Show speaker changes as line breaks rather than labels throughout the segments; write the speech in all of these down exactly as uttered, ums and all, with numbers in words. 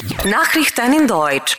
Nachrichten in Deutsch.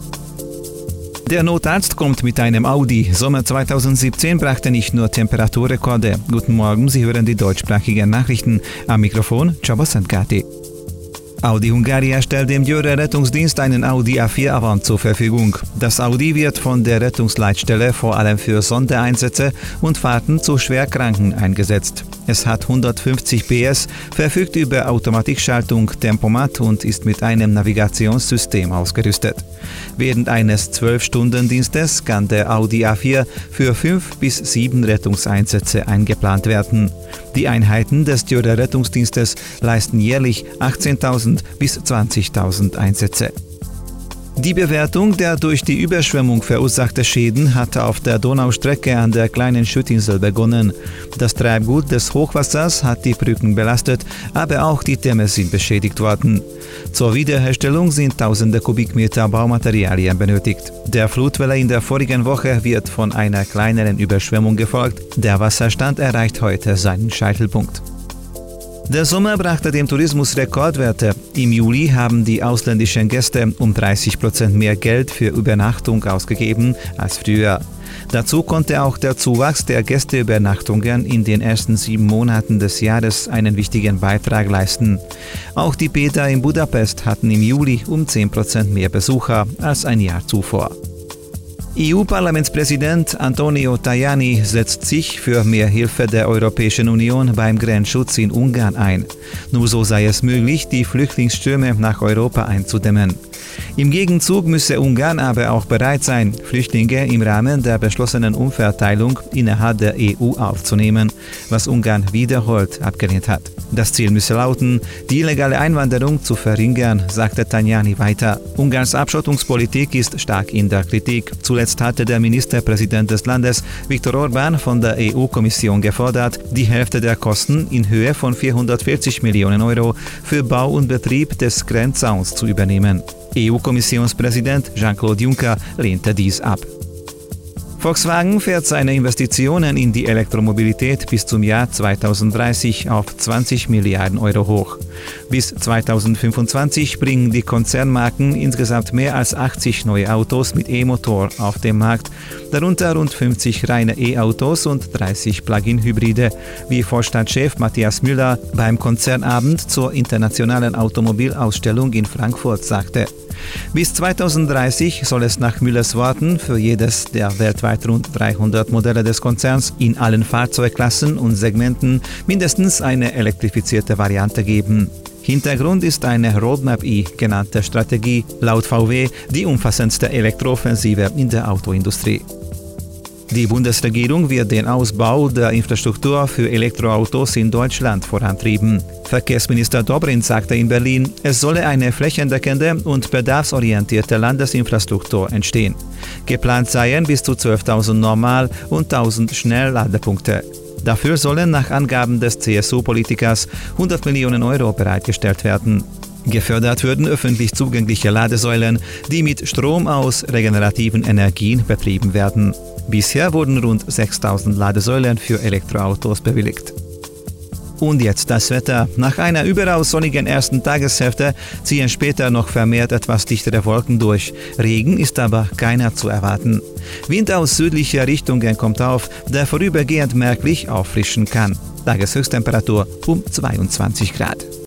Der Notarzt kommt mit einem Audi. Sommer zweitausendsiebzehn brachte nicht nur Temperaturrekorde. Guten Morgen, Sie hören die deutschsprachigen Nachrichten. Am Mikrofon Csaba Szentkáti. Audi Hungaria stellt dem Győr Rettungsdienst einen Audi A vier Avant zur Verfügung. Das Audi wird von der Rettungsleitstelle vor allem für Sondereinsätze und Fahrten zu Schwerkranken eingesetzt. Es hat hundertfünfzig P S, verfügt über Automatikschaltung, Tempomat und ist mit einem Navigationssystem ausgerüstet. Während eines zwölf-Stunden-Dienstes kann der Audi A vier für fünf bis sieben Rettungseinsätze eingeplant werden. Die Einheiten des Győr Rettungsdienstes leisten jährlich achtzehntausend bis zwanzigtausend Einsätze. Die Bewertung der durch die Überschwemmung verursachten Schäden hatte auf der Donaustrecke an der kleinen Schüttinsel begonnen. Das Treibgut des Hochwassers hat die Brücken belastet, aber auch die Dämme sind beschädigt worden. Zur Wiederherstellung sind tausende Kubikmeter Baumaterialien benötigt. Der Flutwelle in der vorigen Woche wird von einer kleineren Überschwemmung gefolgt. Der Wasserstand erreicht heute seinen Scheitelpunkt. Der Sommer brachte dem Tourismus Rekordwerte. Im Juli haben die ausländischen Gäste um dreißig Prozent mehr Geld für Übernachtung ausgegeben als früher. Dazu konnte auch der Zuwachs der Gästeübernachtungen in den ersten sieben Monaten des Jahres einen wichtigen Beitrag leisten. Auch die Bäder in Budapest hatten im Juli um zehn Prozent mehr Besucher als ein Jahr zuvor. E U-Parlamentspräsident Antonio Tajani setzt sich für mehr Hilfe der Europäischen Union beim Grenzschutz in Ungarn ein. Nur so sei es möglich, die Flüchtlingsströme nach Europa einzudämmen. Im Gegenzug müsse Ungarn aber auch bereit sein, Flüchtlinge im Rahmen der beschlossenen Umverteilung innerhalb der E U aufzunehmen, was Ungarn wiederholt abgelehnt hat. Das Ziel müsse lauten, die illegale Einwanderung zu verringern, sagte Tajani weiter. Ungarns Abschottungspolitik ist stark in der Kritik. Zuletzt hatte der Ministerpräsident des Landes, Viktor Orbán, von der E U-Kommission gefordert, die Hälfte der Kosten in Höhe von vierhundertvierzig Millionen Euro für Bau und Betrieb des Grenzzauns zu übernehmen. E U-Kommissionspräsident Jean-Claude Juncker lehnte dies ab. Volkswagen fährt seine Investitionen in die Elektromobilität bis zum Jahr zweitausenddreißig auf zwanzig Milliarden Euro hoch. Bis zweitausendfünfundzwanzig bringen die Konzernmarken insgesamt mehr als achtzig neue Autos mit E-Motor auf den Markt, darunter rund fünfzig reine E-Autos und dreißig Plug-in-Hybride, wie Vorstandschef Matthias Müller beim Konzernabend zur internationalen Automobilausstellung in Frankfurt sagte. Bis zweitausenddreißig soll es nach Müllers Worten für jedes der weltweit rund dreihundert Modelle des Konzerns in allen Fahrzeugklassen und Segmenten mindestens eine elektrifizierte Variante geben. Hintergrund ist eine Roadmap E genannte Strategie, laut V W die umfassendste Elektrooffensive in der Autoindustrie. Die Bundesregierung wird den Ausbau der Infrastruktur für Elektroautos in Deutschland vorantreiben. Verkehrsminister Dobrindt sagte in Berlin, es solle eine flächendeckende und bedarfsorientierte Landesinfrastruktur entstehen. Geplant seien bis zu zwölftausend Normal- und tausend Schnellladepunkte. Dafür sollen nach Angaben des C S U-Politikers hundert Millionen Euro bereitgestellt werden. Gefördert würden öffentlich zugängliche Ladesäulen, die mit Strom aus regenerativen Energien betrieben werden. Bisher wurden rund sechstausend Ladesäulen für Elektroautos bewilligt. Und jetzt das Wetter. Nach einer überaus sonnigen ersten Tageshälfte ziehen später noch vermehrt etwas dichtere Wolken durch. Regen ist aber keiner zu erwarten. Wind aus südlicher Richtungen kommt auf, der vorübergehend merklich auffrischen kann. Tageshöchsttemperatur um zweiundzwanzig Grad.